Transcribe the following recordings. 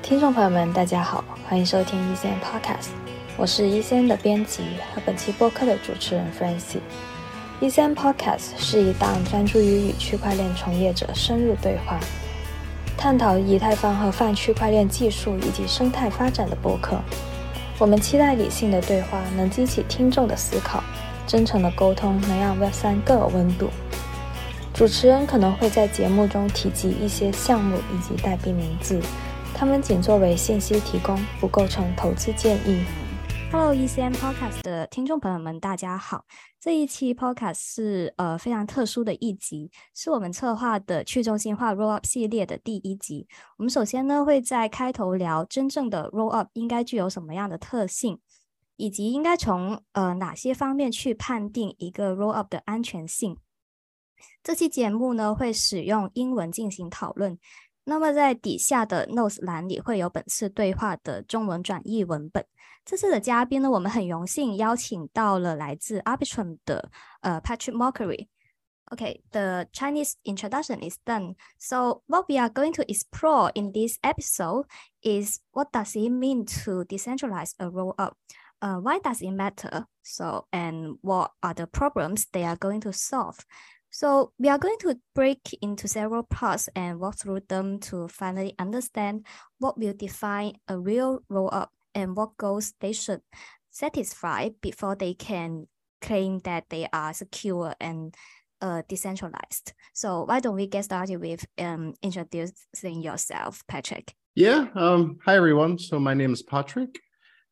听众朋友们，大家好，欢迎收听E3 Podcast， 我是E3的编辑和本期播客的主持人 Francie。E3 Podcast 是一档专注于与区块链从业者深入对话，探讨以太坊和泛区块链技术以及生态发展的播客。我们期待理性的对话能激起听众的思考，真诚的沟通能让 Web3 更有温度。主持人可能会在节目中提及一些项目以及代币名字，他们仅作为信息提供，不构成投资建议。Hello ECM Podcast 的听众朋友们，大家好。这一期 Podcast 是非常特殊的一集，是我们策划的去中心化 Rollup 系列的第一集。我们首先呢会在开头聊真正的 Rollup 应该具有什么样的特性，以及应该从哪些方面去判定一个 Rollup 的安全性。这期节目呢会使用英文进行讨论，那么在底下的 Notes 栏里会有本次对话的中文转译文本。这次的嘉宾呢，我们很荣幸邀请到了来自 Arbitrum 的Patrick Mockery。Okay, the Chinese introduction is done. So what we are going to explore in this episode is what does it mean to decentralize a rollup? Why does it matter? And what are the problems they are going to solve? So we are going to break into several parts and walk through them to finally understand what will define a real rollup and what goals they should satisfy before they can claim that they are secure and decentralized. So why don't we get started with introducing yourself, Patrick? Yeah. Hi, everyone. So my name is Patrick.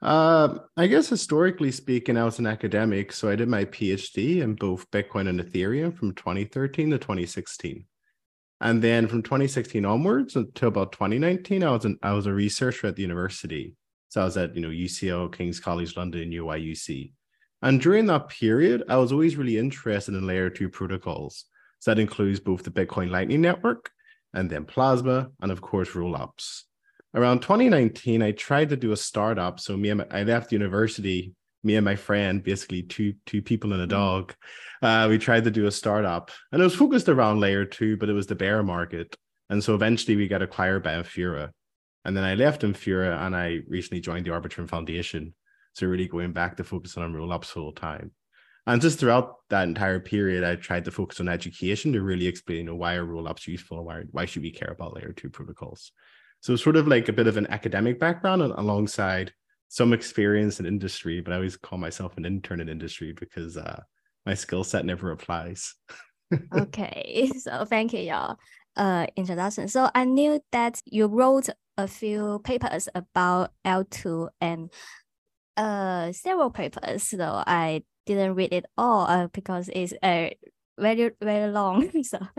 I guess historically speaking, I was an academic, so I did my PhD in both Bitcoin and Ethereum from 2013 to 2016. And then from 2016 onwards until about 2019, I was a researcher at the university. So I was at UCL, King's College London, and UIUC. And during that period, I was always really interested in layer 2 protocols. So that includes both the Bitcoin Lightning Network and then Plasma, and of course, rollups. Around 2019, I tried to do a startup. So I left university, me and my friend, basically two people and a dog. We tried to do a startup, and it was focused around layer 2, but it was the bear market. And so eventually we got acquired by Infura. And then I left Infura and I recently joined the Arbitrum Foundation. So really going back to focusing on rollups full time. And just throughout that entire period, I tried to focus on education to really explain why are rollups useful, why should we care about layer 2 protocols. So sort of like a bit of an academic background alongside some experience in industry, but I always call myself an intern in industry because my skill set never applies. Okay, so thank you, your introduction. So I knew that you wrote a few papers about L2 and several papers, though I didn't read it all because it's very, very long.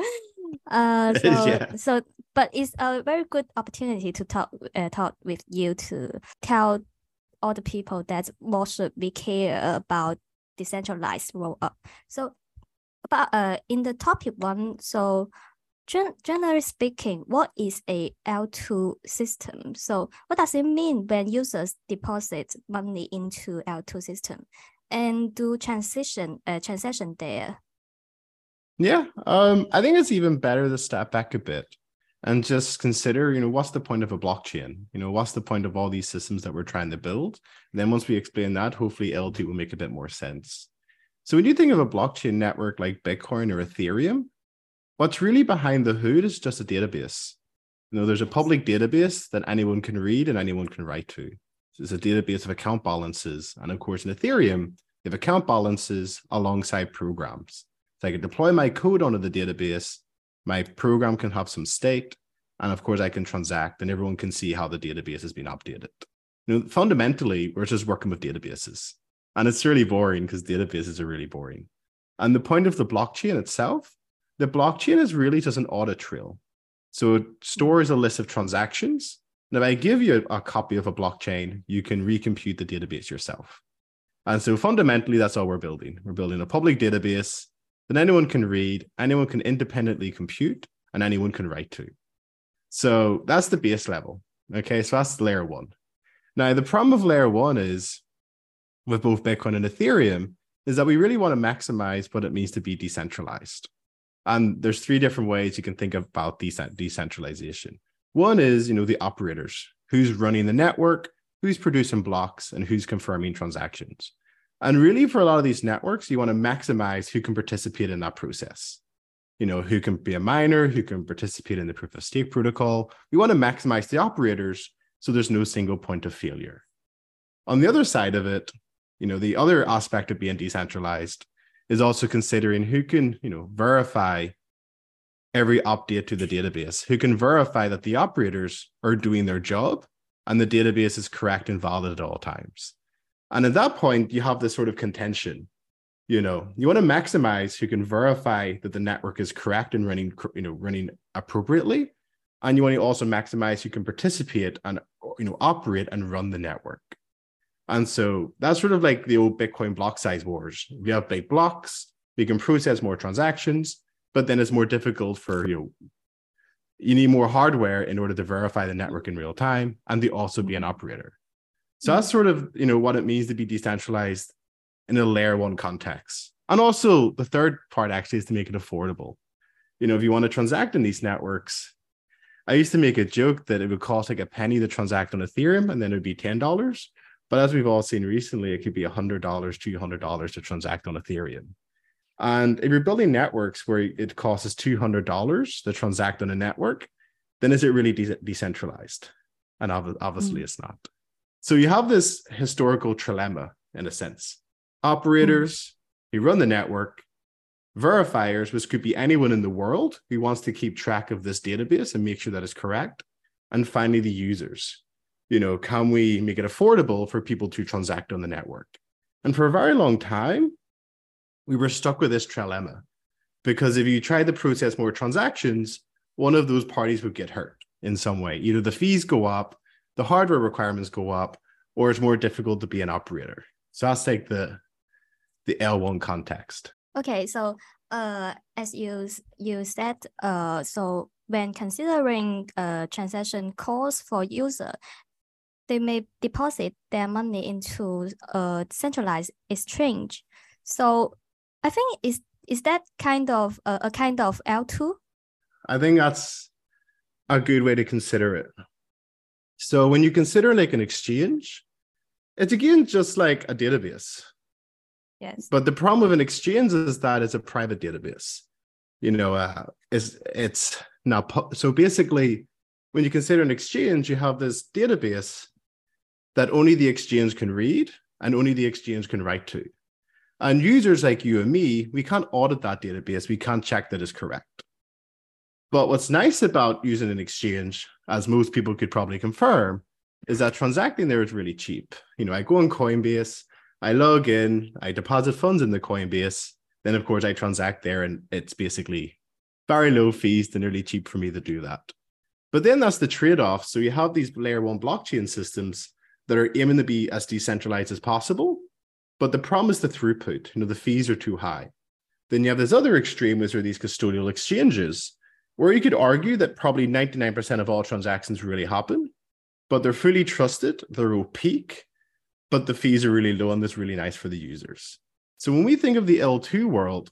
But it's a very good opportunity to talk with you to tell all the people that what should we care about decentralized rollup. So, but in the topic one, so generally speaking, what is a L2 system? So what does it mean when users deposit money into L2 system and do transaction there? Yeah, I think it's even better to step back a bit and just consider, what's the point of a blockchain? What's the point of all these systems that we're trying to build? And then once we explain that, hopefully L2 will make a bit more sense. So when you think of a blockchain network like Bitcoin or Ethereum, what's really behind the hood is just a database. There's a public database that anyone can read and anyone can write to. So it's a database of account balances. And of course, in Ethereum, you have account balances alongside programs. So I can deploy my code onto the database, my program can have some state, and of course I can transact and everyone can see how the database has been updated. Fundamentally, we're just working with databases. And it's really boring because databases are really boring. And the point of the blockchain itself, the blockchain is really just an audit trail. So it stores a list of transactions. And if I give you a copy of a blockchain, you can recompute the database yourself. And so fundamentally, that's all we're building. We're building a public database that anyone can read, anyone can independently compute, and anyone can write to. So that's the base level. Okay, so that's layer 1. Now, the problem of layer 1 is, with both Bitcoin and Ethereum, is that we really want to maximize what it means to be decentralized. And there's 3 different ways you can think about decentralization. One is, the operators. who's running the network, who's producing blocks, and who's confirming transactions. And really, for a lot of these networks, you want to maximize who can participate in that process. Who can be a miner, who can participate in the proof of stake protocol. We want to maximize the operators so there's no single point of failure. On the other side of it, the other aspect of being decentralized is also considering who can, verify every update to the database, who can verify that the operators are doing their job and the database is correct and valid at all times. And at that point, you have this sort of contention. You want to maximize who can verify that the network is correct and running appropriately. And you want to also maximize who can participate and, operate and run the network. And so that's sort of like the old Bitcoin block size wars. We have big blocks, we can process more transactions, but then it's more difficult for, you need more hardware in order to verify the network in real time and to also be an operator. So that's sort of, what it means to be decentralized in a layer one context. And also the third part actually is to make it affordable. If you want to transact in these networks, I used to make a joke that it would cost like a penny to transact on Ethereum and then it would be $10. But as we've all seen recently, it could be $100, $200 to transact on Ethereum. And if you're building networks where it costs $200 to transact on a network, then is it really decentralized? And obviously it's not. So you have this historical trilemma in a sense. Operators who run the network, verifiers, which could be anyone in the world who wants to keep track of this database and make sure that it's correct. And finally, the users. Can we make it affordable for people to transact on the network? And for a very long time, we were stuck with this trilemma because if you tried to process more transactions, one of those parties would get hurt in some way. Either the fees go up, the hardware requirements go up, or it's more difficult to be an operator. So that's like the L1 context. Okay, so as you said, so when considering transaction costs for user, they may deposit their money into a centralized exchange. So I think is that kind of a kind of L2? I think that's a good way to consider it. So when you consider like an exchange, it's again just like a database. Yes. But the problem with an exchange is that it's a private database. It's not so basically when you consider an exchange, you have this database that only the exchange can read and only the exchange can write to. And users like you and me, we can't audit that database. We can't check that it's correct. But what's nice about using an exchange, as most people could probably confirm, is that transacting there is really cheap. I go on Coinbase, I log in, I deposit funds in the Coinbase, then of course I transact there and it's basically very low fees and nearly cheap for me to do that. But then that's the trade-off. So you have these layer one blockchain systems that are aiming to be as decentralized as possible, but the problem is the throughput. The fees are too high. Then you have this other extreme, which are these custodial exchanges, where you could argue that probably 99% of all transactions really happen, but they're fully trusted, they're opaque, but the fees are really low and that's really nice for the users. So when we think of the L2 world,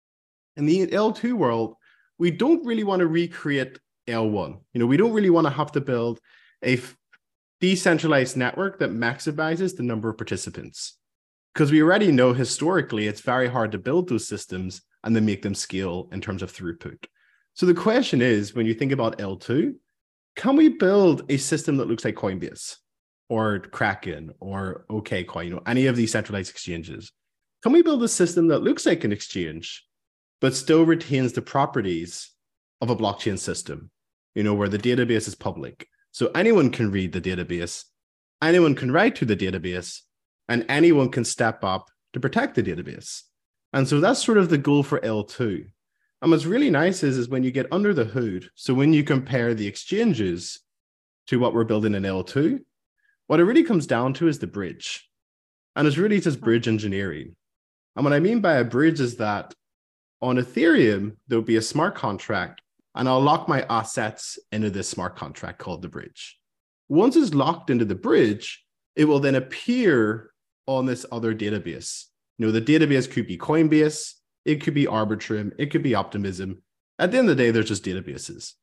in the L2 world, we don't really want to recreate L1. We don't really want to have to build a decentralized network that maximizes the number of participants. Because we already know historically, it's very hard to build those systems and then make them scale in terms of throughput. So the question is, when you think about L2, can we build a system that looks like Coinbase or Kraken or OKCoin, any of these centralized exchanges? Can we build a system that looks like an exchange, but still retains the properties of a blockchain system, where the database is public? So anyone can read the database, anyone can write to the database, and anyone can step up to protect the database. And so that's sort of the goal for L2. And what's really nice is when you get under the hood, so when you compare the exchanges to what we're building in L2, what it really comes down to is the bridge. And it's really just bridge engineering. And what I mean by a bridge is that on Ethereum, there'll be a smart contract, and I'll lock my assets into this smart contract called the bridge. Once it's locked into the bridge, it will then appear on this other database. The database could be Coinbase, it could be Arbitrum, it could be Optimism. At the end of the day, they're just databases.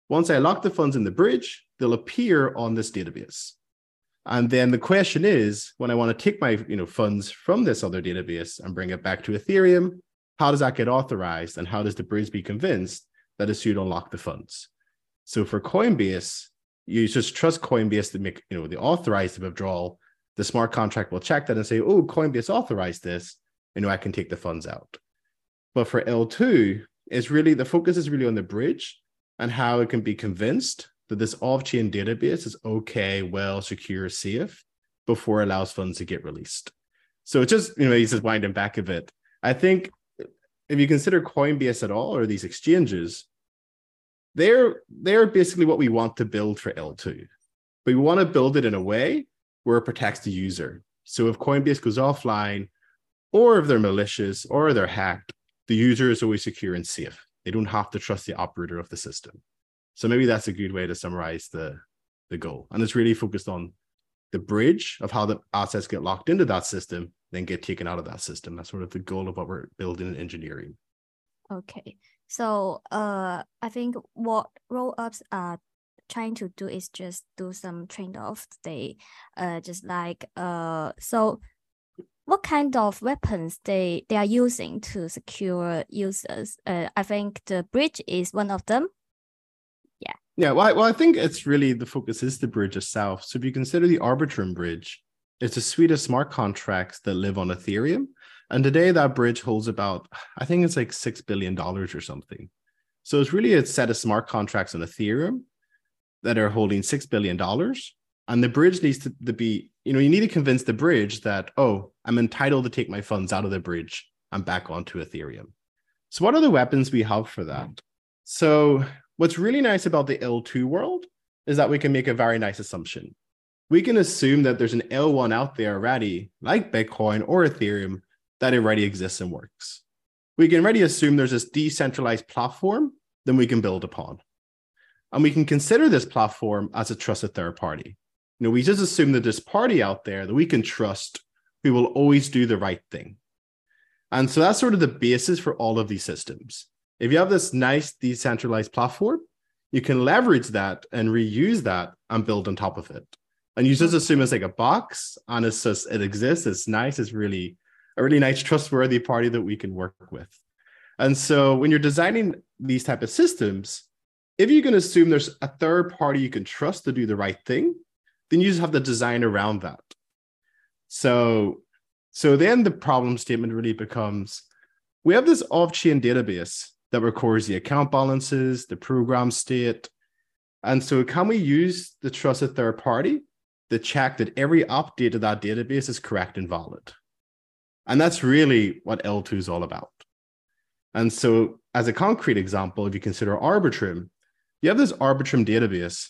Once I lock the funds in the bridge, they'll appear on this database. And then the question is, when I want to take my funds from this other database and bring it back to Ethereum, how does that get authorized? And how does the bridge be convinced that it's you to unlock the funds? So for Coinbase, you just trust Coinbase to make the authorized withdrawal. The smart contract will check that and say, oh, Coinbase authorized this. I can take the funds out. But for L2, it's really the focus is really on the bridge and how it can be convinced that this off-chain database is okay, well, secure, safe before it allows funds to get released. So it's just, he's just winding back a bit. I think if you consider Coinbase at all, or these exchanges, they're basically what we want to build for L2. But we want to build it in a way where it protects the user. So if Coinbase goes offline, or if they're malicious, or they're hacked, the user is always secure and safe. They don't have to trust the operator of the system. So maybe that's a good way to summarize the goal. And it's really focused on the bridge of how the assets get locked into that system, then get taken out of that system. That's sort of the goal of what we're building in engineering. Okay. So I think what rollups are trying to do is just do some trade-offs. They so what kind of weapons they are using to secure users? I think the bridge is one of them. Yeah, well, I think it's really the focus is the bridge itself. So if you consider the Arbitrum bridge, it's a suite of smart contracts that live on Ethereum. And today that bridge holds about, I think it's like $6 billion or something. So it's really a set of smart contracts on Ethereum that are holding $6 billion. And the bridge needs to be, you need to convince the bridge that, oh, I'm entitled to take my funds out of the bridge and back onto Ethereum. So what are the weapons we have for that? So what's really nice about the L2 world is that we can make a very nice assumption. We can assume that there's an L1 out there already, like Bitcoin or Ethereum, that already exists and works. We can already assume there's this decentralized platform that we can build upon. And we can consider this platform as a trusted third party. We just assume that this party out there that we can trust, who will always do the right thing. And so that's sort of the basis for all of these systems. If you have this nice decentralized platform, you can leverage that and reuse that and build on top of it. And you just assume it's like a box and it's just, it exists, it's nice, it's really a really nice, trustworthy party that we can work with. And so when you're designing these type of systems, if you can assume there's a third party you can trust to do the right thing, then you just have to design around that. So then the problem statement really becomes, we have this off-chain database that records the account balances, the program state. And so can we use the trusted third party to check that every update to that database is correct and valid? And that's really what L2 is all about. And so as a concrete example, if you consider Arbitrum, you have this Arbitrum database,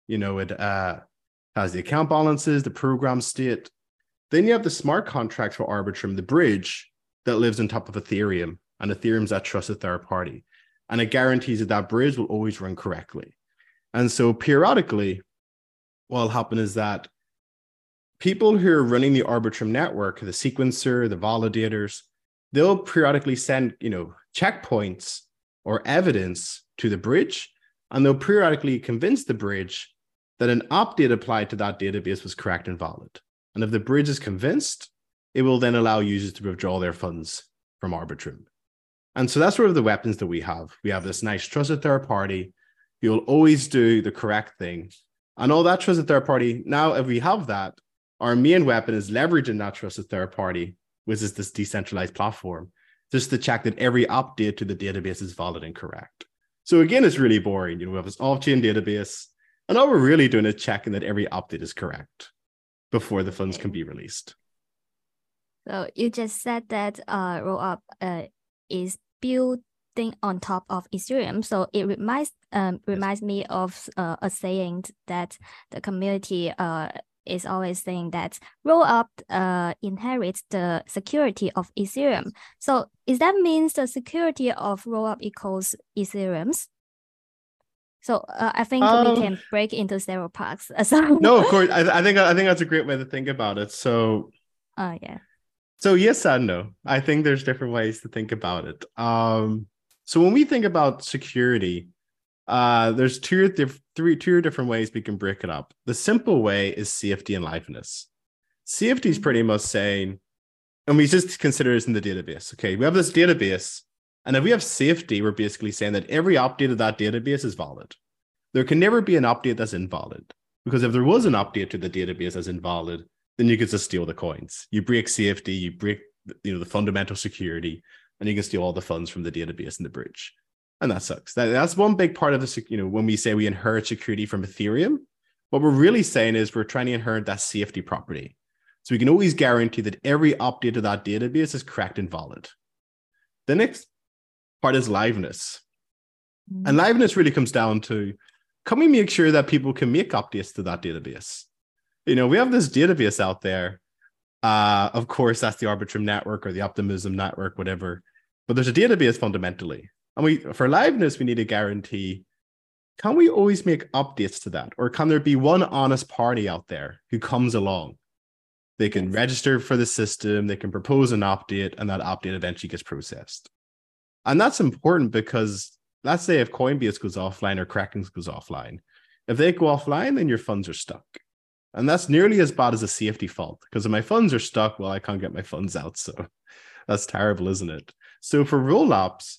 it has the account balances, the program state. Then you have the smart contracts for Arbitrum, the bridge that lives on top of Ethereum, and Ethereum's that trusted third party. And it guarantees that bridge will always run correctly. And so periodically, what will happen is that people who are running the Arbitrum network, the sequencer, the validators, they'll periodically send, checkpoints or evidence to the bridge, and they'll periodically convince the bridge that an update applied to that database was correct and valid. And if the bridge is convinced, it will then allow users to withdraw their funds from Arbitrum. And so that's sort of the weapons that we have. We have this nice trusted third party. You'll always do the correct thing. And all that trusted third party, now if we have that, our main weapon is leveraging that trusted third party, which is this decentralized platform, just to check that every update to the database is valid and correct. So again, it's really boring. We have this off-chain database, and all we're really doing is checking that every update is correct before the funds can be released. So you just said that Rollup is building on top of Ethereum. So it reminds me of a saying that the community is always saying that Rollup inherits the security of Ethereum. So is that means the security of Rollup equals Ethereum's? So I think we can break into several parts. No, of course. I think that's a great way to think about it. So yeah. So yes and no. I think there's different ways to think about it. So when we think about security, There's two different ways we can break it up. The simple way is safety and liveness. Safety is pretty much saying, and we just consider this in the database. Okay, we have this database, and if we have safety, we're basically saying that every update of that database is valid. There can never be an update that's invalid, because if there was an update to the database that's invalid, then you could just steal the coins. You break safety, you break the fundamental security, and you can steal all the funds from the database and the bridge. And that sucks. That's one big part of this, when we say we inherit security from Ethereum, what we're really saying is we're trying to inherit that safety property. So we can always guarantee that every update to that database is correct and valid. The next part is liveness. And liveness really comes down to, can we make sure that people can make updates to that database? We have this database out there. Of course, that's the Arbitrum network or the Optimism network, whatever. But there's a database fundamentally. And for liveness, we need to guarantee, can we always make updates to that? Or can there be one honest party out there who comes along? They can register for the system, they can propose an update, and that update eventually gets processed. And that's important because let's say if Coinbase goes offline or Kraken goes offline, if they go offline, then your funds are stuck. And that's nearly as bad as a safety fault, because if my funds are stuck, well, I can't get my funds out. So that's terrible, isn't it? So for rollups,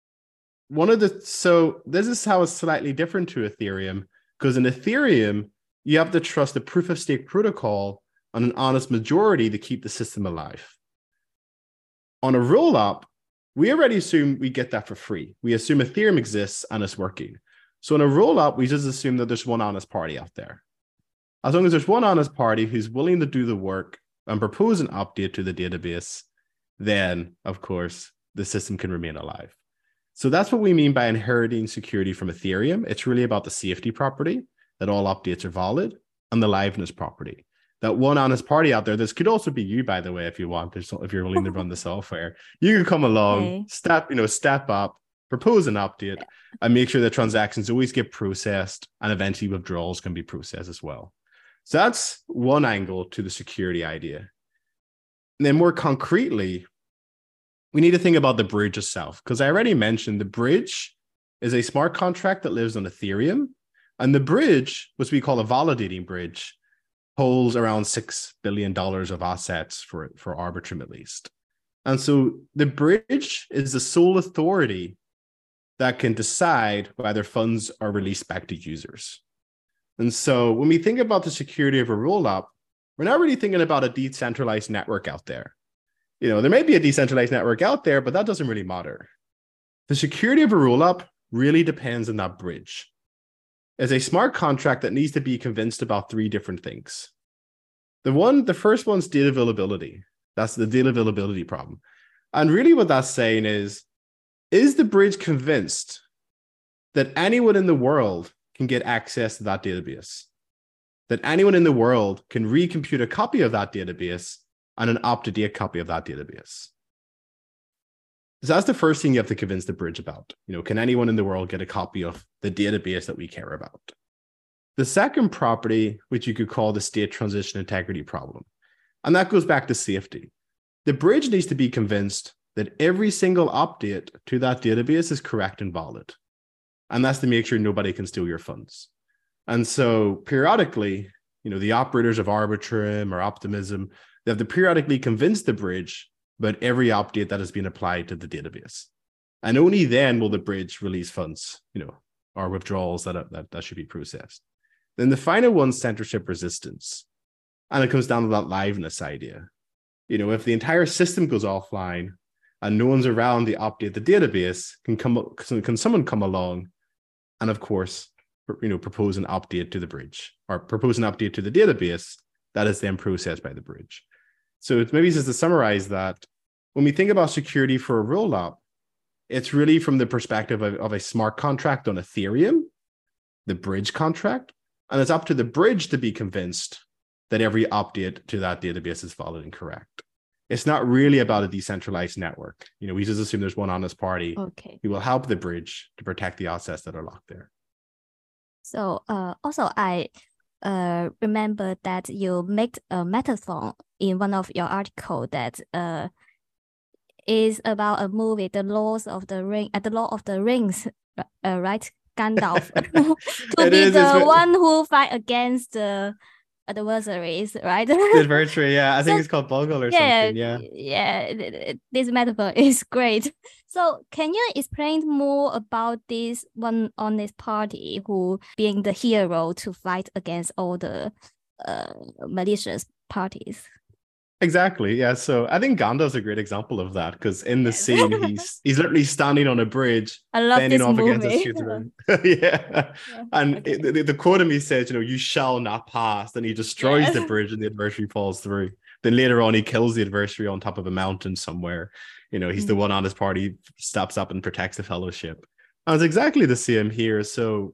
this is how it's slightly different to Ethereum, because in Ethereum, you have to trust the proof of stake protocol on an honest majority to keep the system alive. On a rollup, we already assume we get that for free. We assume Ethereum exists and it's working. So in a rollup, we just assume that there's one honest party out there. As long as there's one honest party who's willing to do the work and propose an update to the database, then, of course, the system can remain alive. So that's what we mean by inheriting security from Ethereum. It's really about the safety property, that all updates are valid, and the liveness property. That one honest party out there, this could also be you, by the way, if you want, if you're willing to run the software, you can come along, step up, propose an update, and make sure that transactions always get processed, and eventually withdrawals can be processed as well. So that's one angle to the security idea. And then more concretely, we need to think about the bridge itself, because I already mentioned the bridge is a smart contract that lives on Ethereum, and the bridge, which we call a validating bridge, holds around $6 billion of assets for Arbitrum at least. And so the bridge is the sole authority that can decide whether funds are released back to users. And so when we think about the security of a rollup, we're not really thinking about a decentralized network out there. There may be a decentralized network out there, but that doesn't really matter. The security of a rollup really depends on that bridge. It's a smart contract that needs to be convinced about three different things. The first one's data availability. That's the data availability problem. And really what that's saying is the bridge convinced that anyone in the world can get access to that database? That anyone in the world can recompute a copy of that database and an up-to-date copy of that database? So that's the first thing you have to convince the bridge about. Can anyone in the world get a copy of the database that we care about? The second property, which you could call the state transition integrity problem, and that goes back to safety. The bridge needs to be convinced that every single update to that database is correct and valid. And that's to make sure nobody can steal your funds. And so periodically, the operators of Arbitrum or Optimism, they have to periodically convince the bridge about every update that has been applied to the database. And only then will the bridge release funds, or withdrawals that should be processed. Then the final one's censorship resistance. And it comes down to that liveness idea. If the entire system goes offline and no one's around to update the database, can someone come along and, of course, propose an update to the bridge or propose an update to the database that is then processed by the bridge. So it's maybe just to summarize that, when we think about security for a rollup, it's really from the perspective of a smart contract on Ethereum, the bridge contract, and it's up to the bridge to be convinced that every update to that database is valid and correct. It's not really about a decentralized network. We just assume there's one honest party who will help the bridge to protect the assets that are locked there. So also I remember that you made a metaphor in one of your article that is about a movie, The Law of the Rings, right? Gandalf to It be is, the it's- one who fight against the adversaries, right? The adversary, yeah. I think So, it's called Bogle or yeah, something, yeah. this metaphor is great. So can you explain more about this one honest party who being the hero to fight against all the malicious parties? Exactly. Yeah. So I think Gandalf's a great example of that because in the Yes. scene, he's literally standing on a bridge, I love bending this off against a movie. shooter. Yeah. And Okay. the quote of me says, you shall not pass. And he destroys the Yes. bridge and the adversary falls through. Then later on, he kills the adversary on top of a mountain somewhere. He's the one on his party, steps up and protects the fellowship. And it's exactly the same here. So,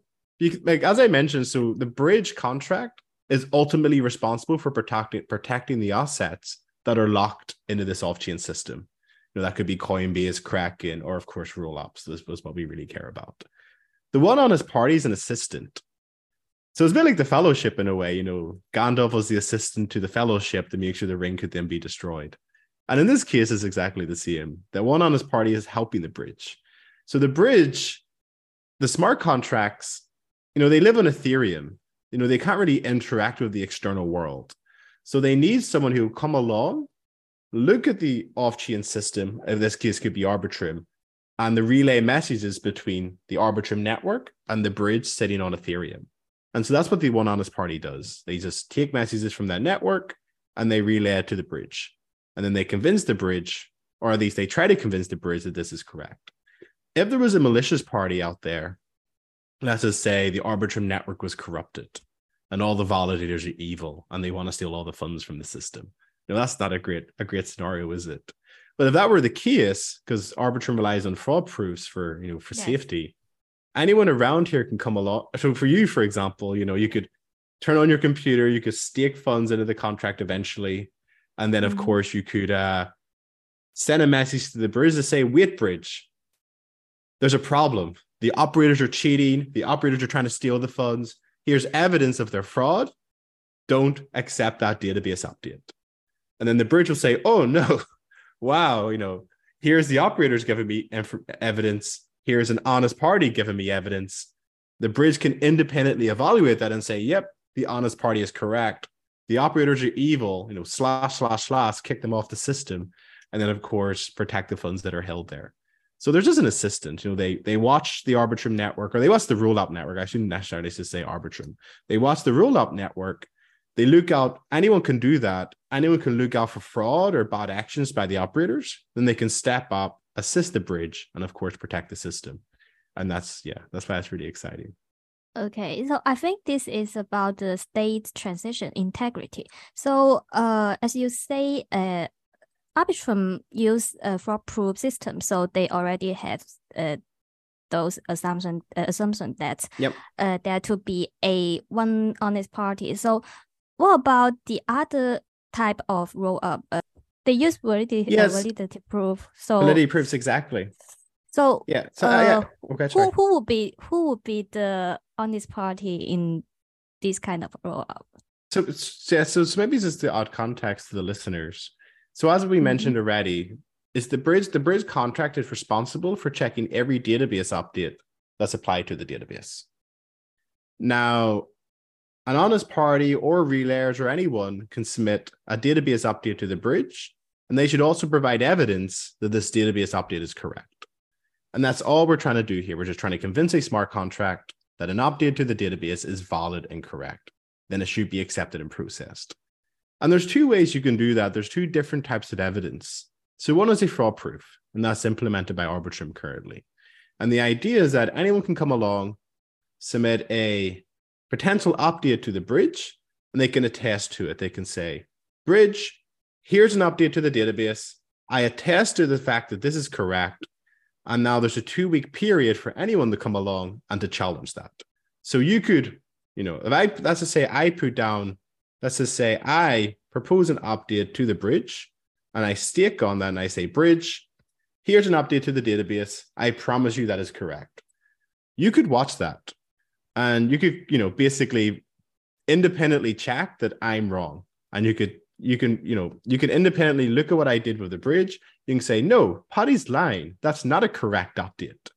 as I mentioned, so the bridge contract is ultimately responsible for protecting the assets that are locked into this off-chain system. That could be Coinbase, Kraken, or of course rollups. This was what we really care about. The one honest party is an assistant. So it's a bit like the fellowship in a way. Gandalf was the assistant to the fellowship to make sure the ring could then be destroyed. And in this case, it's exactly the same. The one honest party is helping the bridge. So the bridge, the smart contracts, they live on Ethereum. They can't really interact with the external world. So they need someone who will come along, look at the off-chain system, in this case could be Arbitrum, and the relay messages between the Arbitrum network and the bridge sitting on Ethereum. And so that's what the one honest party does. They just take messages from that network and they relay it to the bridge. And then they convince the bridge, or at least they try to convince the bridge that this is correct. If there was a malicious party out there, let's just say the Arbitrum network was corrupted and all the validators are evil and they want to steal all the funds from the system. That's not a great scenario, is it? But if that were the case, because Arbitrum relies on fraud proofs for yes. safety, anyone around here can come along. So for you, for example, you could turn on your computer, you could stake funds into the contract eventually. And then, of course, you could send a message to the bridge to say, wait, bridge, there's a problem. The operators are cheating. The operators are trying to steal the funds. Here's evidence of their fraud. Don't accept that database update. And then the bridge will say, oh, no, wow, here's the operators giving me evidence. Here's an honest party giving me evidence. The bridge can independently evaluate that and say, yep, the honest party is correct. The operators are evil, /// kick them off the system. And then, of course, protect the funds that are held there. So there's just an assistant. They watch the Arbitrum network, or they watch the rollup network. I shouldn't necessarily just say Arbitrum. They watch the rollup network. They look out. Anyone can do that. Anyone can look out for fraud or bad actions by the operators. Then they can step up, assist the bridge, and of course, protect the system. And that's why it's really exciting. Okay, so I think this is about the state transition integrity. So, as you say, Arbitrum use a fraud proof system, so they already have those assumption that there to be a one honest party. So, what about the other type of roll up? They use validity proof. So validity proofs, exactly. So yeah. So who would be the honest party in this kind of roll up? So maybe this is the odd context to the listeners. So as we mentioned already, is the bridge contract is responsible for checking every database update that's applied to the database. Now, an honest party or relayers or anyone can submit a database update to the bridge, and they should also provide evidence that this database update is correct. And that's all we're trying to do here. We're just trying to convince a smart contract that an update to the database is valid and correct. Then it should be accepted and processed. And there's two ways you can do that. There's two different types of evidence. So one is a fraud proof, and that's implemented by Arbitrum currently. And the idea is that anyone can come along, submit a potential update to the bridge, and they can attest to it. They can say, bridge, here's an update to the database. I attest to the fact that this is correct. And now there's a 2-week period for anyone to come along and to challenge that. So you could, let's just say I propose an update to the bridge and I stake on that and I say, bridge, here's an update to the database. I promise you that is correct. You could watch that and you could, basically independently check that I'm wrong. And you can independently look at what I did with the bridge. You can say, no, Paddy's lying. That's not a correct update.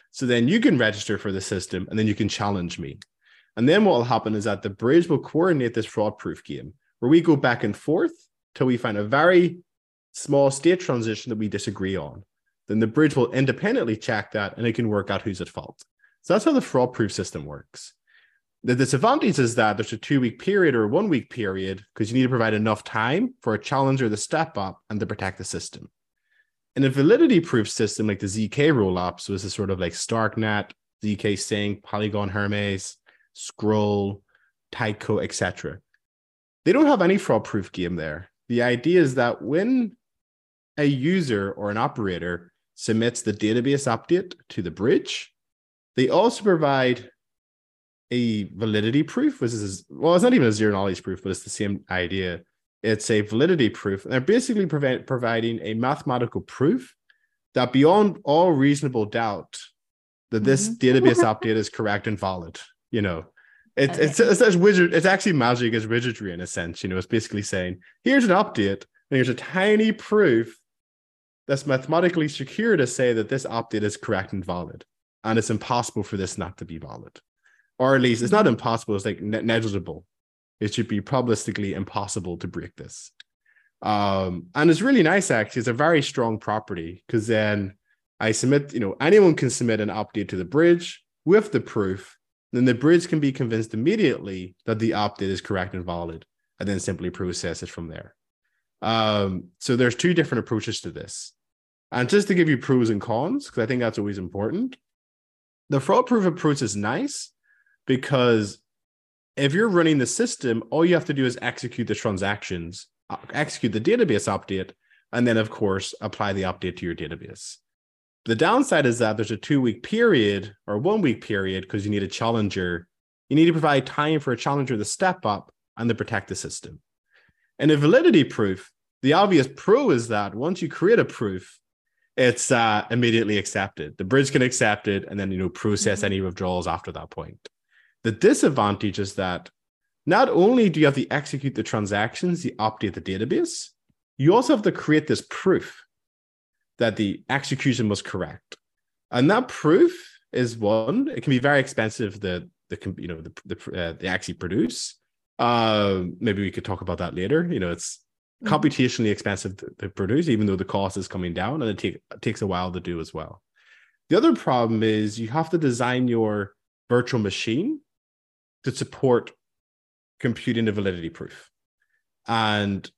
So then you can register for the system and then you can challenge me. And then what will happen is that the bridge will coordinate this fraud-proof game where we go back and forth till we find a very small state transition that we disagree on. Then the bridge will independently check that and it can work out who's at fault. So that's how the fraud-proof system works. The disadvantage is that there's a 2-week period or a 1-week period because you need to provide enough time for a challenger to step up and to protect the system. In a validity-proof system like the ZK rollup, so this is sort of like StarkNet, ZK Sync, Polygon Hermes, Scroll, Tyco, etc. They don't have any fraud-proof game there. The idea is that when a user or an operator submits the database update to the bridge, they also provide a validity proof, which is, well, it's not even a zero knowledge proof, but it's the same idea. It's a validity proof. And they're basically providing a mathematical proof that beyond all reasonable doubt that this database update is correct and valid. You know, it's actually magic as wizardry in a sense. You know, it's basically saying, here's an update, and here's a tiny proof that's mathematically secure to say that this update is correct and valid. And it's impossible for this not to be valid. Or at least it's not impossible, it's like negligible. It should be probabilistically impossible to break this. And it's really nice, actually. It's a very strong property because then I submit, you know, anyone can submit an update to the bridge with the proof. Then the bridge can be convinced immediately that the update is correct and valid, and then simply process it from there. So there's 2 different approaches to this. And just to give you pros and cons, because I think that's always important, the fraud-proof approach is nice because if you're running the system, all you have to do is execute the transactions, execute the database update, and then, of course, apply the update to your database. The downside is that there's a 2-week period or 1-week period because you need a challenger. You need to provide time for a challenger to step up and to protect the system. In a validity proof, the obvious pro is that once you create a proof, it's immediately accepted. The bridge can accept it and then, you know, process any withdrawals after that point. The disadvantage is that not only do you have to execute the transactions, you update the database, you also have to create this proof that the execution was correct. And that proof is one, it can be very expensive to actually produce. Maybe we could talk about that later. You know, it's computationally expensive to produce, even though the cost is coming down, and it takes a while to do as well. The other problem is you have to design your virtual machine to support computing the validity proof. And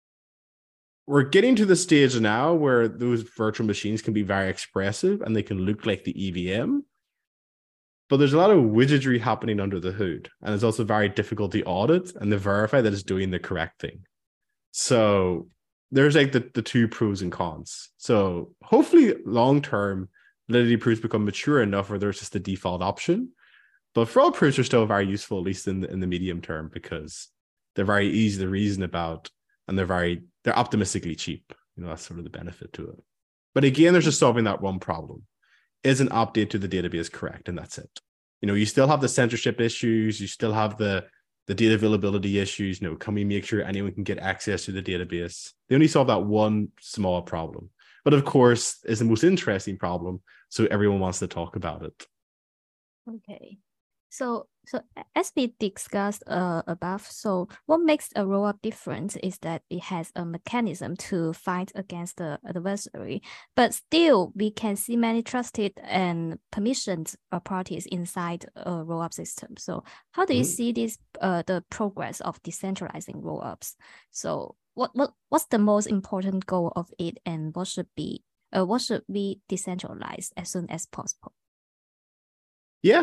we're getting to the stage now where those virtual machines can be very expressive and they can look like the EVM. But there's a lot of wizardry happening under the hood. And it's also very difficult to audit and to verify that it's doing the correct thing. So there's like the 2 pros and cons. So hopefully long-term validity proofs become mature enough where there's just a default option. But fraud proofs are still very useful, at least in the medium term, because they're very easy to reason about and they're optimistically cheap. You know, that's sort of the benefit to it. But again, there's just solving that one problem. Is an update to the database correct? And that's it. You know, you still have the censorship issues. You still have the data availability issues. You know, can we make sure anyone can get access to the database? They only solve that one small problem. But of course, it's the most interesting problem. So everyone wants to talk about it. Okay. So as we discussed above, so what makes a rollup different is that it has a mechanism to fight against the adversary, but still we can see many trusted and permissioned parties inside a rollup system. So how do you see this the progress of decentralizing rollups? So what's the most important goal of it, and what should we decentralize as soon as possible? Yeah.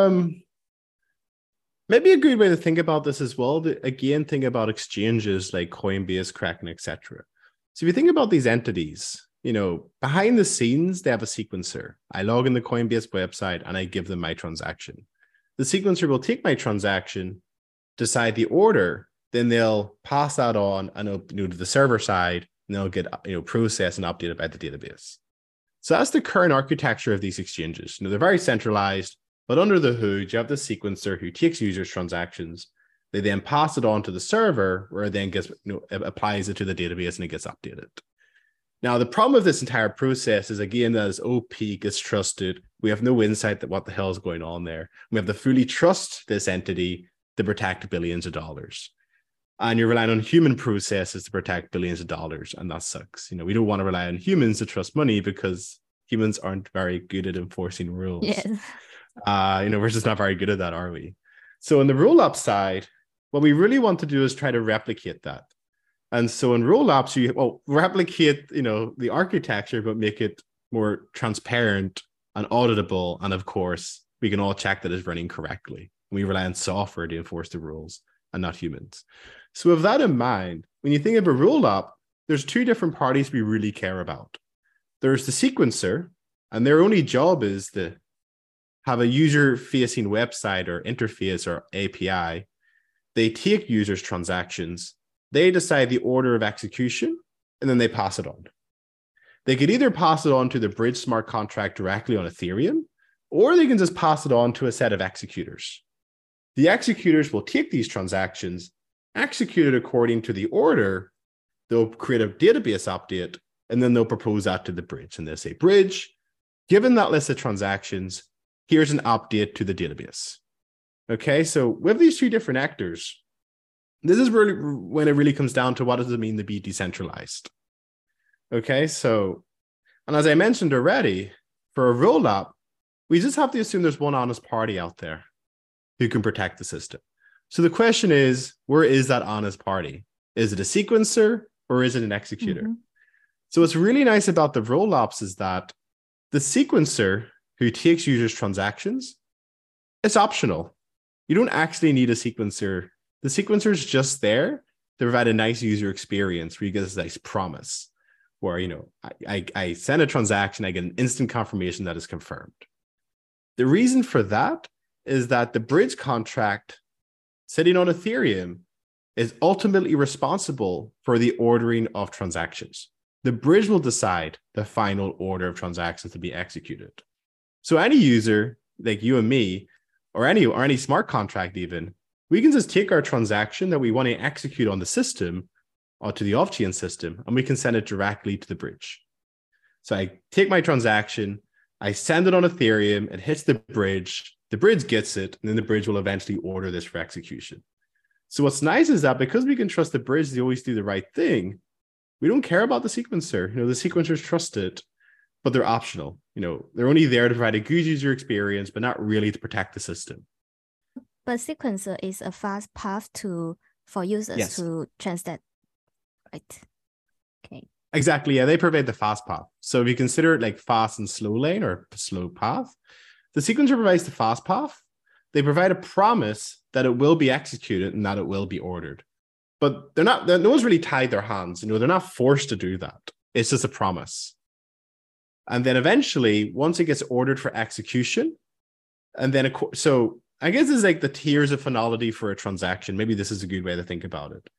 Maybe a good way to think about this as well, again, think about exchanges like Coinbase, Kraken, etc. So if you think about these entities, you know, behind the scenes, they have a sequencer. I log in the Coinbase website and I give them my transaction. The sequencer will take my transaction, decide the order, then they'll pass that on and to the server side, and they'll get processed and updated by the database. So that's the current architecture of these exchanges. You know, they're very centralized. But under the hood, you have the sequencer who takes users' transactions. They then pass it on to the server, where it then gets, applies it to the database and it gets updated. Now, the problem with this entire process is, again, that as OP gets trusted, we have no insight that what the hell is going on there. We have to fully trust this entity to protect billions of dollars. And you're relying on human processes to protect billions of dollars, and that sucks. We don't want to rely on humans to trust money because humans aren't very good at enforcing rules. Yes. We're just not very good at that, are we? So on the rollup side, what we really want to do is try to replicate that. And so in rollups, you replicate, the architecture, but make it more transparent and auditable. And of course, we can all check that it's running correctly. We rely on software to enforce the rules and not humans. So with that in mind, when you think of a rollup, there's two different parties we really care about. There's the sequencer, and their only job is to have a user-facing website or interface or API. They take users' transactions, they decide the order of execution, and then they pass it on. They could either pass it on to the bridge smart contract directly on Ethereum, or they can just pass it on to a set of executors. The executors will take these transactions, execute it according to the order, they'll create a database update, and then they'll propose that to the bridge. And they'll say, bridge, given that list of transactions, here's an update to the database. Okay, so with these two different actors, this is really when it really comes down to what does it mean to be decentralized. Okay, so, and as I mentioned already, for a rollup, we just have to assume there's one honest party out there who can protect the system. So the question is, where is that honest party? Is it a sequencer or is it an executor? Mm-hmm. So what's really nice about the rollups is that the sequencer who takes users' transactions, it's optional. You don't actually need a sequencer. The sequencer is just there to provide a nice user experience where you get this nice promise where, I send a transaction, I get an instant confirmation that is confirmed. The reason for that is that the bridge contract sitting on Ethereum is ultimately responsible for the ordering of transactions. The bridge will decide the final order of transactions to be executed. So any user like you and me, or any smart contract even, we can just take our transaction that we want to execute on the system or to the off-chain system, and we can send it directly to the bridge. So I take my transaction, I send it on Ethereum, it hits the bridge gets it, and then the bridge will eventually order this for execution. So what's nice is that because we can trust the bridge, they always do the right thing, we don't care about the sequencer. The sequencers trust it, but they're optional. They're only there to provide a good user experience, but not really to protect the system. But sequencer is a fast path for users to transact, right? Okay. Exactly. Yeah, they provide the fast path. So if you consider it like fast and slow lane or slow path, the sequencer provides the fast path. They provide a promise that it will be executed and that it will be ordered. But no one's really tied their hands. They're not forced to do that. It's just a promise. And then eventually, once it gets ordered for execution, and then, so I guess it's like the tiers of finality for a transaction. Maybe this is a good way to think about it.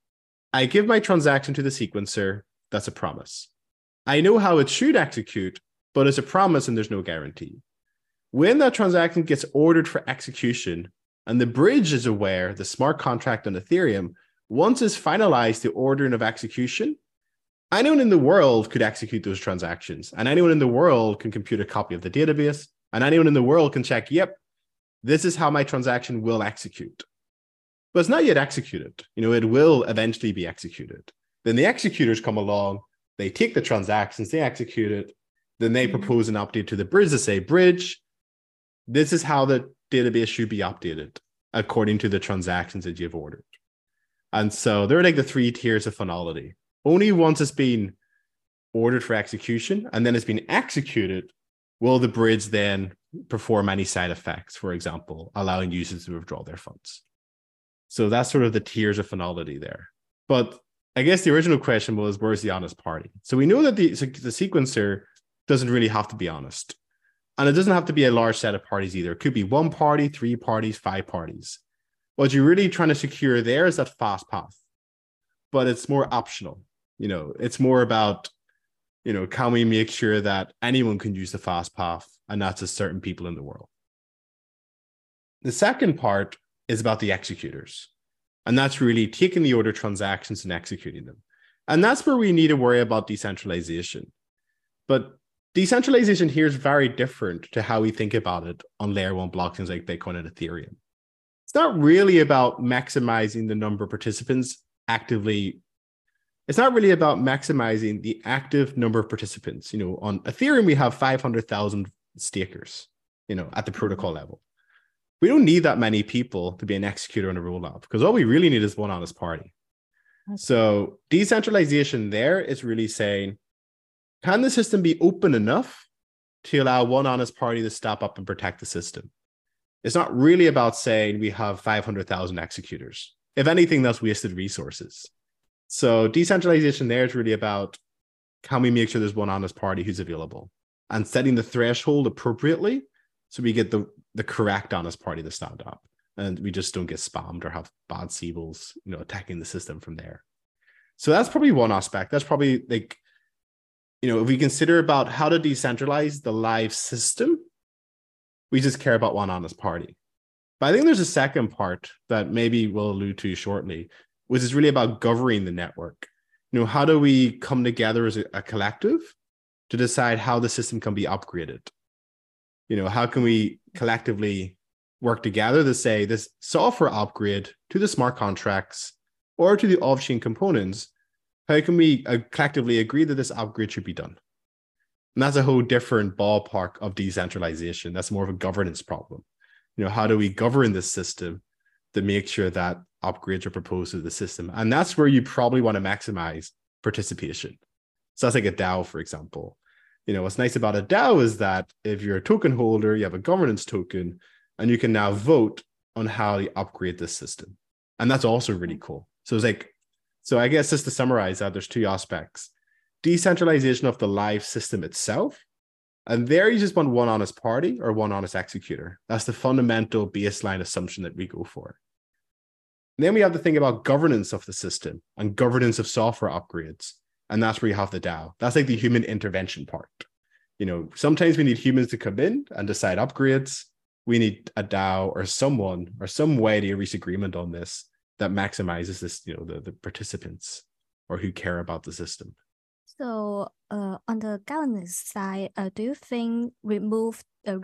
I give my transaction to the sequencer. That's a promise. I know how it should execute, but it's a promise and there's no guarantee. When that transaction gets ordered for execution, and the bridge is aware, the smart contract on Ethereum, once it's finalized the ordering of execution, anyone in the world could execute those transactions, and anyone in the world can compute a copy of the database, and anyone in the world can check, yep, this is how my transaction will execute. But it's not yet executed. It will eventually be executed. Then the executors come along, they take the transactions, they execute it, then they propose an update to the bridge to say, bridge, this is how the database should be updated according to the transactions that you've ordered. And so they're like the three tiers of finality. Only once it's been ordered for execution and then it's been executed, will the bridge then perform any side effects, for example, allowing users to withdraw their funds. So that's sort of the tiers of finality there. But I guess the original question was, where's the honest party? So we know that the sequencer doesn't really have to be honest. And it doesn't have to be a large set of parties either. It could be one party, 3 parties, 5 parties. What you're really trying to secure there is that fast path. But it's more optional. It's more about, can we make sure that anyone can use the fast path and not just certain people in the world? The second part is about the executors. And that's really taking the order transactions and executing them. And that's where we need to worry about decentralization. But decentralization here is very different to how we think about it on layer one blockchains like Bitcoin and Ethereum. It's not really about maximizing the number of participants actively. It's not really about maximizing the active number of participants. On Ethereum, we have 500,000 stakers, at the protocol level. We don't need that many people to be an executor on a rollup, because all we really need is one honest party. So decentralization there is really saying, can the system be open enough to allow one honest party to step up and protect the system? It's not really about saying we have 500,000 executors. If anything, that's wasted resources. So decentralization there is really about, can we make sure there's one honest party who's available, and setting the threshold appropriately so we get the correct honest party to stand up, and we just don't get spammed or have bad Siebels, attacking the system from there. So that's probably one aspect. That's probably like, if we consider about how to decentralize the live system, we just care about one honest party. But I think there's a second part that maybe we'll allude to shortly, which is really about governing the network. How do we come together as a collective to decide how the system can be upgraded? How can we collectively work together to say this software upgrade to the smart contracts or to the off-chain components, how can we collectively agree that this upgrade should be done? And that's a whole different ballpark of decentralization. That's more of a governance problem. How do we govern this system to make sure that upgrades are proposed to the system? And that's where you probably want to maximize participation. So that's like a DAO, for example. What's nice about a DAO is that if you're a token holder, you have a governance token, and you can now vote on how you upgrade this system. And that's also really cool. So I guess just to summarize that, there's two aspects: decentralization of the live system itself. And there you just want one honest party or one honest executor. That's the fundamental baseline assumption that we go for. And then we have to think about governance of the system and governance of software upgrades. And that's where you have the DAO. That's like the human intervention part. Sometimes we need humans to come in and decide upgrades. We need a DAO or someone or some way to reach agreement on this that maximizes this, the participants or who care about the system. So on the governance side, do you think removing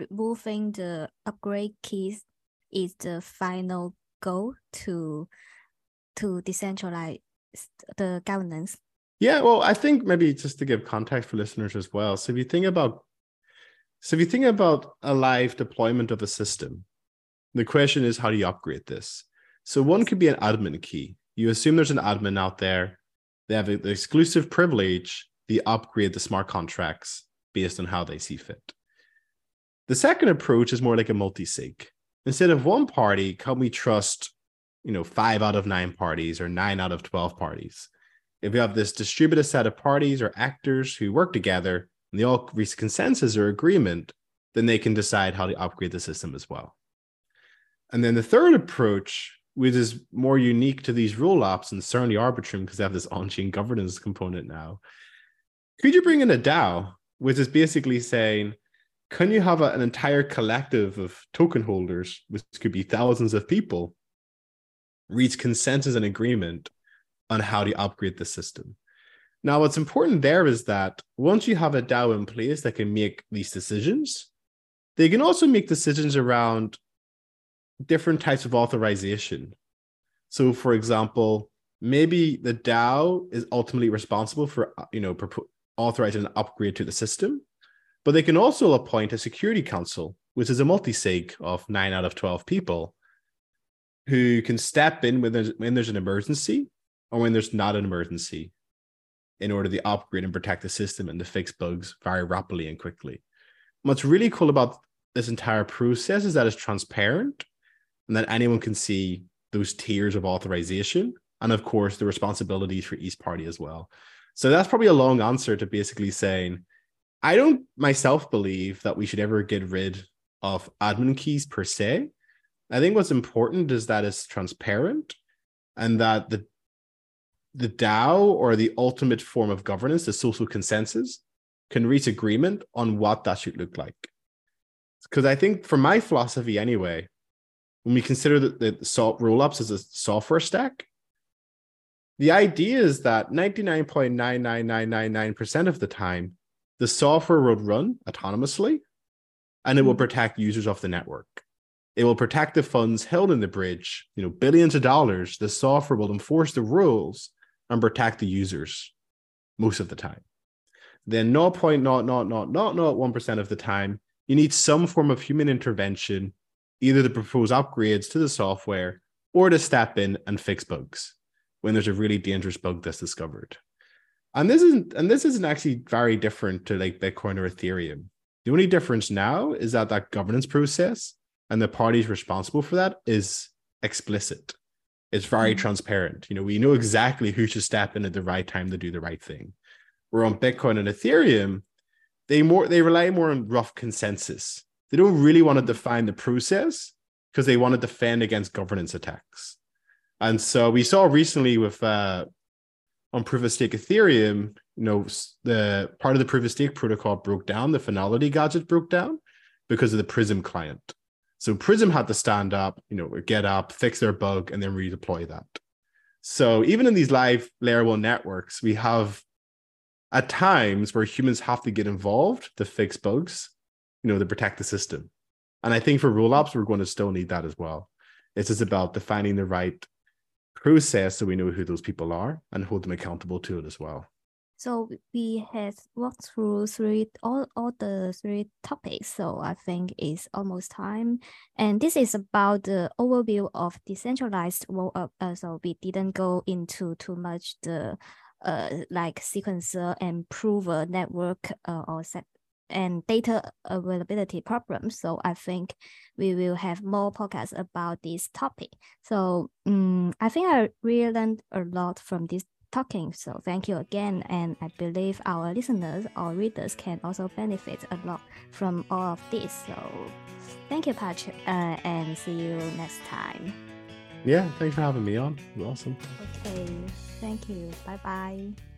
the upgrade keys is the final goal to decentralize the governance? Yeah, well, I think maybe just to give context for listeners as well. So if you think about a live deployment of a system, the question is, how do you upgrade this? So one could be an admin key. You assume there's an admin out there. They have the exclusive privilege. They upgrade the smart contracts based on how they see fit. The second approach is more like a multi-sig. Instead of one party, can we trust, 5 out of 9 parties or 9 out of 12 parties? If we have this distributed set of parties or actors who work together and they all reach consensus or agreement, then they can decide how to upgrade the system as well. And then the third approach, which is more unique to these rollups and certainly Arbitrum, because they have this on-chain governance component now. Could you bring in a DAO, which is basically saying, can you have an entire collective of token holders, which could be thousands of people, reach consensus and agreement on how to upgrade the system? Now, what's important there is that once you have a DAO in place that can make these decisions, they can also make decisions around different types of authorization. So, for example, maybe the DAO is ultimately responsible for, authorizing an upgrade to the system, but they can also appoint a security council, which is a multi-sig of 9 out of 12 people who can step in when there's an emergency or when there's not an emergency in order to upgrade and protect the system and to fix bugs very rapidly and quickly. What's really cool about this entire process is that it's transparent and that anyone can see those tiers of authorization and, of course, the responsibilities for each party as well. So that's probably a long answer to basically saying, I don't myself believe that we should ever get rid of admin keys per se. I think what's important is that it's transparent and that the DAO or the ultimate form of governance, the social consensus, can reach agreement on what that should look like. Because I think for my philosophy anyway, when we consider the rollups as a software stack, The idea is that 99.99999% of the time, the software will run autonomously and it will protect users of the network. It will protect the funds held in the bridge, billions of dollars. The software will enforce the rules and protect the users most of the time. Then 0.00001% of the time, you need some form of human intervention, either to propose upgrades to the software or to step in and fix bugs when there's a really dangerous bug that's discovered. And this isn't actually very different to like Bitcoin or Ethereum. The only difference now is that governance process and the parties responsible for that is explicit. It's very transparent. We know exactly who should step in at the right time to do the right thing. Where on Bitcoin and Ethereum, they rely more on rough consensus. They don't really want to define the process because they want to defend against governance attacks. And so we saw recently with on proof of stake Ethereum, the part of the proof of stake protocol broke down, the finality gadget broke down because of the Prism client. So Prism had to stand up, get up, fix their bug, and then redeploy that. So even in these live layer 1 networks, we have at times where humans have to get involved to fix bugs, to protect the system. And I think for rollups, we're going to still need that as well. It's just about defining the right process so we know who those people are and hold them accountable to it as well. So we have walked through all the three topics. So I think it's almost time. And this is about the overview of decentralized rollup. So we didn't go into too much the like sequencer and prover network and data availability problems. So I think we will have more podcasts about this topic. So I think I really learned a lot from this talking. So thank you again. And I believe our listeners or readers can also benefit a lot from all of this. So thank you, Patrick, and see you next time. Yeah, thanks for having me on. It was awesome. Okay, thank you. Bye-bye.